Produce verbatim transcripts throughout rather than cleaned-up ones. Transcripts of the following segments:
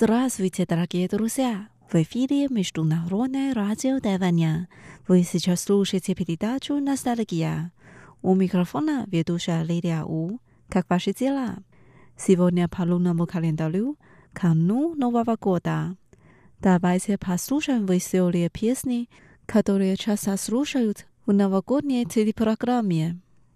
Здравствуйте, дорогие друзья! В эфире Международное радио Тайваня. Вы сейчас слушаете передачу «Ностальгия». У микрофона ведущая Лилия У. Как ваши дела? Сегодня по лунному календарю канун Нового года. Давайте послушаем веселые песни, которые часто слушают в новогодней телепрограмме.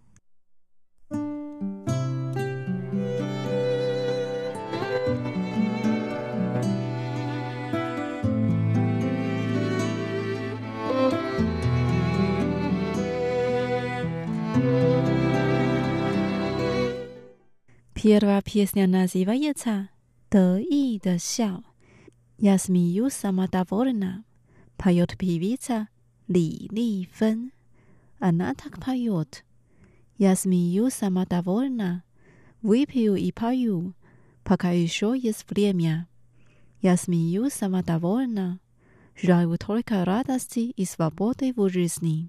Первая песня называется «得意的笑». Я смеюсь самодовольно. Поет певица Ли Ли Фэн. Она так поет. Я смеюсь самодовольно. Выпью и пою, пока еще есть время. Я смеюсь самодовольно. Желаю только радости и свободы в жизни.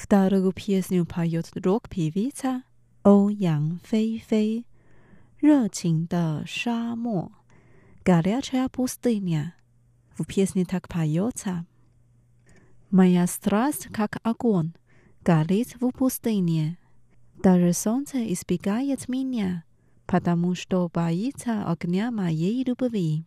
Вторую песню поет рок-певица欧阳菲菲，热情的沙漠。Горячая пустыня. В песне так поется: Моя страсть, как огонь, горит в пустыне. Даже солнце избегает меня, потому что боится огня моей любви.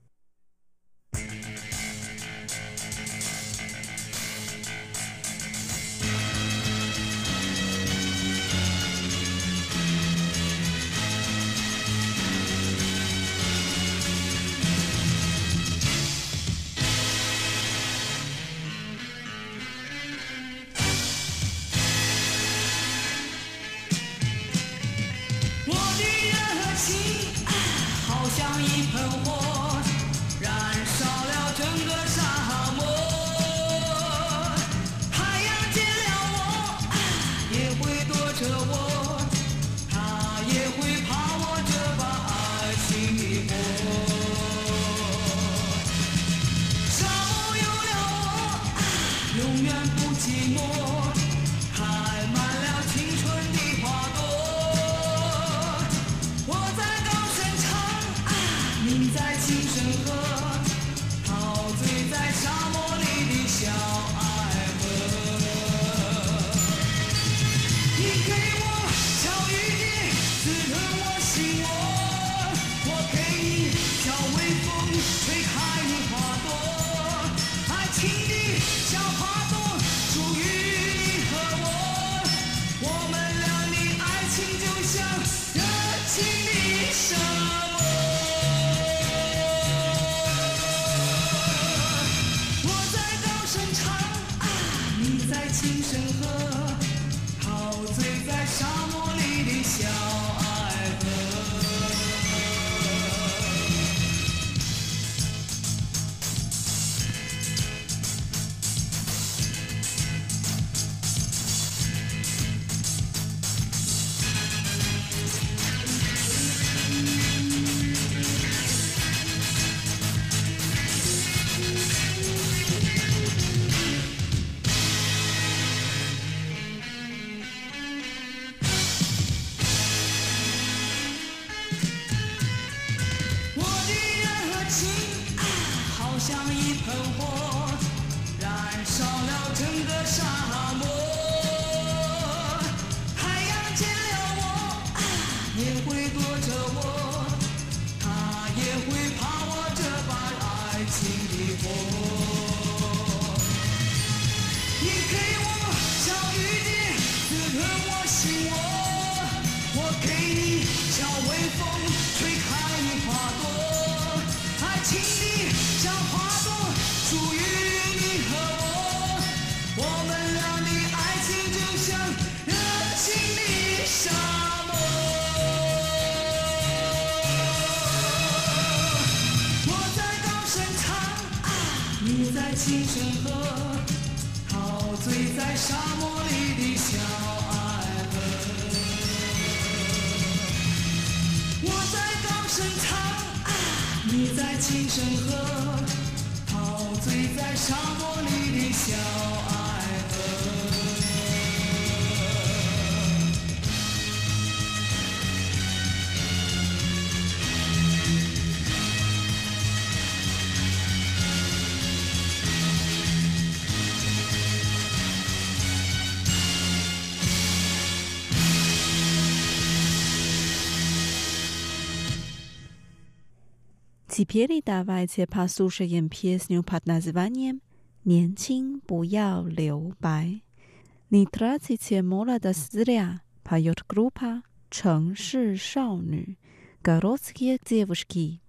Теперь давайте послушаем песню под названием «年轻不要留白». Не тратите молодость зря, поет группа 城市少女 Городские девушки.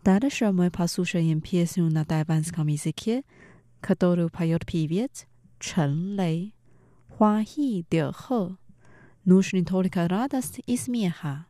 Дальше мы послушаем песню на тайванском языке, которую поет певец Чен Лэй. Хуа хи де хэ. Нужны только радость и смеха.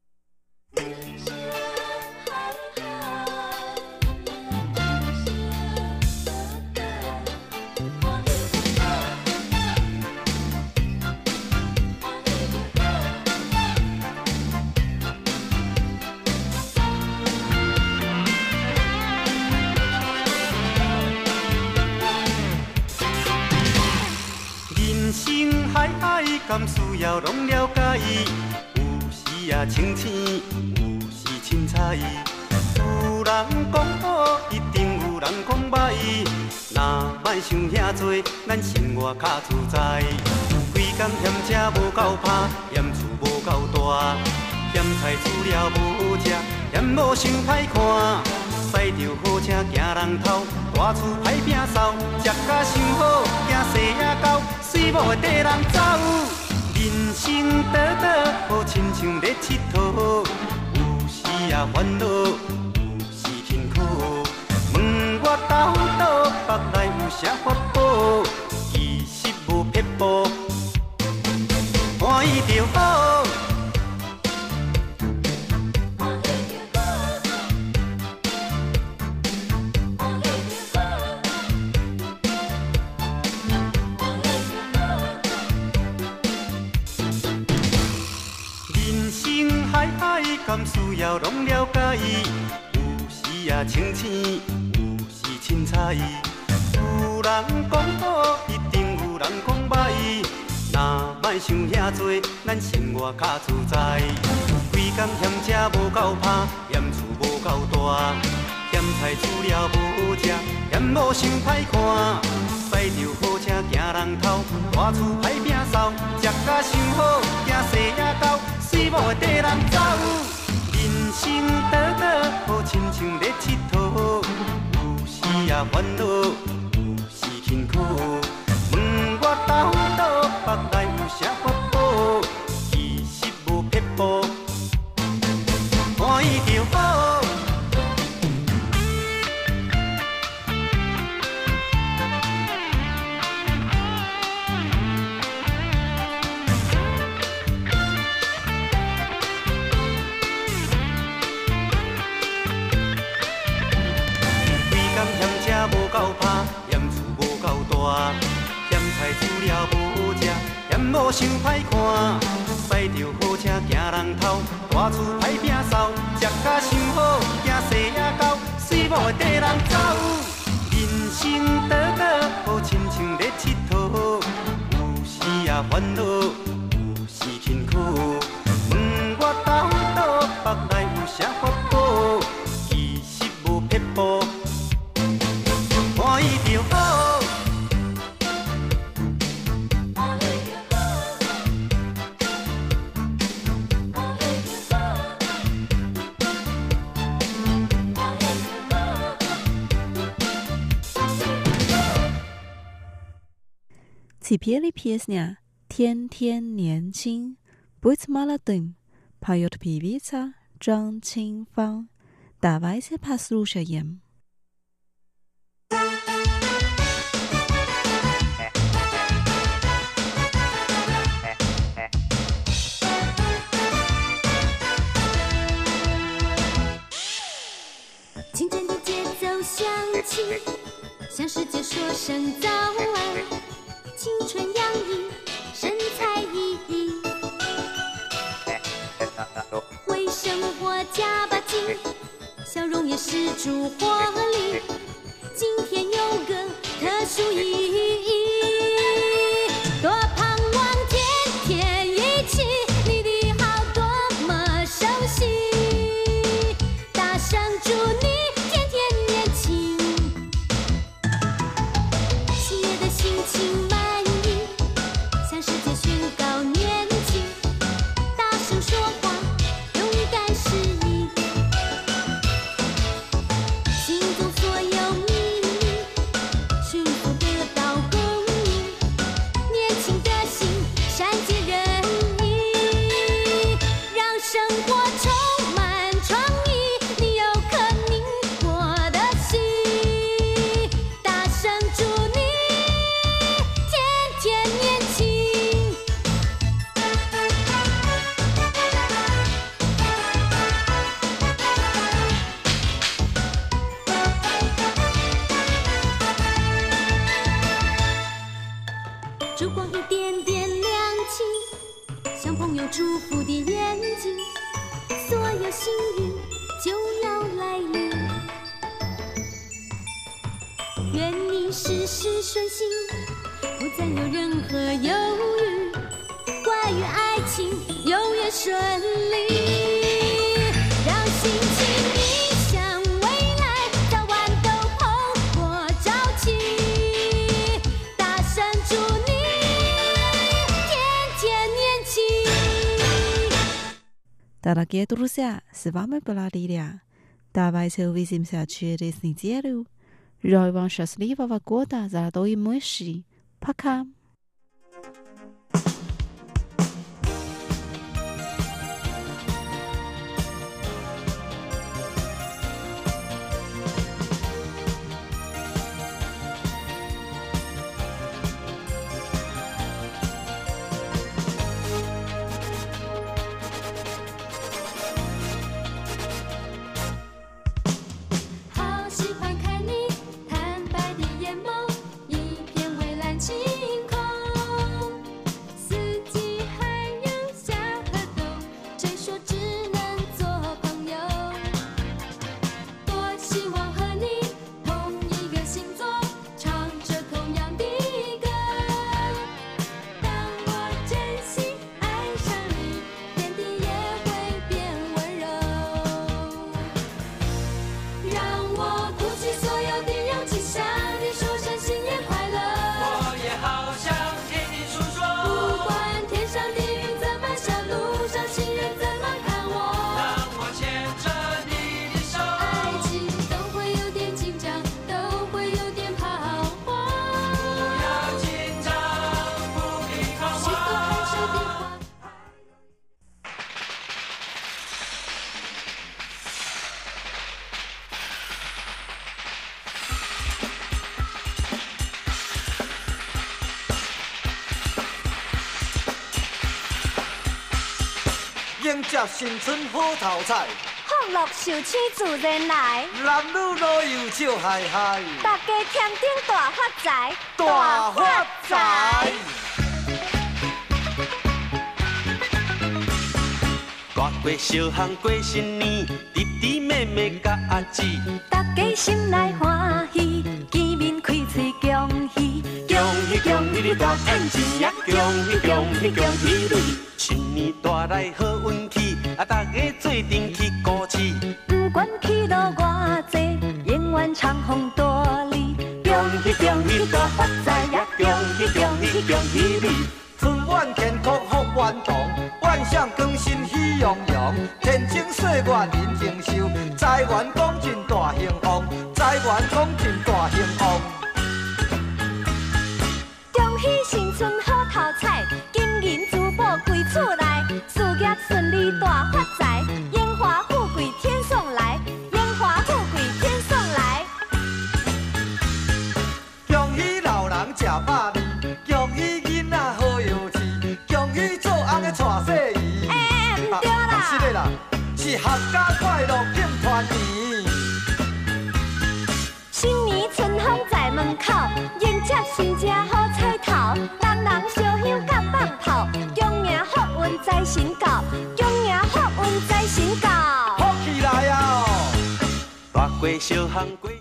敢需要拢了解，有时也清醒，有时凊彩。有人讲好，一定有人讲歹。若莫想遐多，咱生活较自在。规工嫌车无够拍，嫌厝无够大，嫌菜煮了无好食，嫌某想歹看。驶着好车行人头，大厝歹摒扫，食甲想好，惊细仔狗，水某会缀人走。 人生短短，好亲像咧佚佗，有时也烦恼，有时辛苦。问我斗倒，腹内有啥法宝？其实无撇步，欢喜就好。 敢需要拢了解，有时也清醒，有时凊彩。有人讲好，一定有人讲歹。若莫想遐多，咱生活较自在。规工嫌车无够拍，嫌厝无够大，嫌菜煮了无好食，嫌某想歹看。驶着好车行人头，大厝歹摒扫，食甲想好，惊细仔狗，水某会缀人走。 人生短短，好亲像咧佚佗，有时也烦恼，有时辛苦。问我斗倒，腹内有啥法宝？其实无撇步，欢喜就好。 无够拍，嫌厝无够大，嫌菜煮了无好食，嫌某想歹看。驶着好车行人头，大厝歹摒扫，食甲想好，惊细仔狗，水某会缀人走。人生短短，好亲像咧佚佗，有时也烦恼，有时辛苦。问我斗倒，腹内有啥法宝？其实无撇步。 欢喜就好。 Теперь песня «天天年轻» «Быть молодым» поет певица Zhang Qingfang. Давайте послушаем. 清晨的节奏响起，向世界说声早安。青春洋溢，神采奕奕，为生活加把劲，笑容也是主活力。今天有个特殊意义，多盼望天天一起，你的好多么熟悉，大声祝你。 情满意，向世界宣告年轻，大声说话，勇敢是你，心中所有秘密，幸福得到祝福的眼睛，所有幸运就要来临。愿你事事顺心，不再有任何犹豫，关于爱情永远顺利。让心情逆向未来，早晚都蓬勃朝气。大声祝你天天年轻。 Дорогие друзья, с вами была Лилия. Давайте увидимся через неделю. Желаю вам счастливого года, золотой мыши. Пока! 迎接新春好头彩， 福禄寿星自然来， 男女老幼笑嗨嗨， 大家添丁大发财， 大发财。 大过小巷过新年，弟弟妹妹甲阿姊， 大家心内欢喜，见面开嘴恭喜， 恭喜恭喜你大赚钱呀！恭喜恭喜恭喜你！新年带来好运气，啊，大家做阵去鼓市。 不管去路偌济，永远长风大利。 恭喜恭喜大发财呀！恭喜恭喜恭喜你！ 春晚健康福元堂，万象更新喜洋洋，天清岁月人情寿，财源广进大兴旺，财源广进大兴旺。 恭喜新春好头彩，金银珠宝归厝内，事业顺利大发财，荣华富贵天送来，荣华富贵天送来。 恭喜老人吃百年，恭喜囡仔好有志，恭喜做翁的娶小姨。 哎，唔对啦， 是的啦，是合家快乐庆团圆。 新年春风在门口，迎接新正好彩头，人人烧香甲放炮，恭迎福运在身高，恭迎福运在身高。 福气来啊！ 大过小巷过。